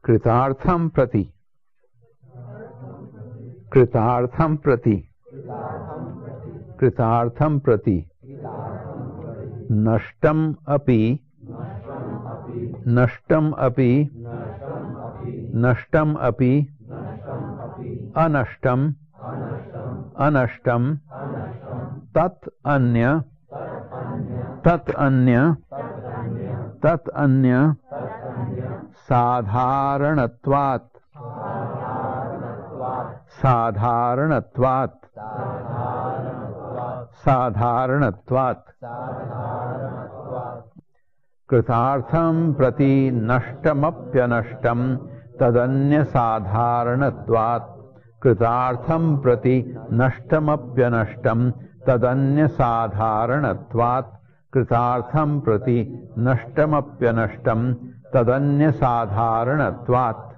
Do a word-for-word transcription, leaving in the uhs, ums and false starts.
कृतार्थं प्रति कृतार्थं प्रति कृतार्थं प्रति नष्टम अपि नष्टम अपि नष्टम अपि अनष्टम अनष्टम तत् अन्य तत् अन्य तत् अन्य साधारणत्वात् साधारणत्वात् साधारणत्वात् कृतार्थं प्रति नष्टमप्यनष्टं तदन्य साधारणत्वात् कृतार्थं प्रति नष्टमप्यनष्टं तदन्य साधारणत्वात् कृतार्थं प्रति नष्टमप्यनष्टं तदन्य साधारणत्वात्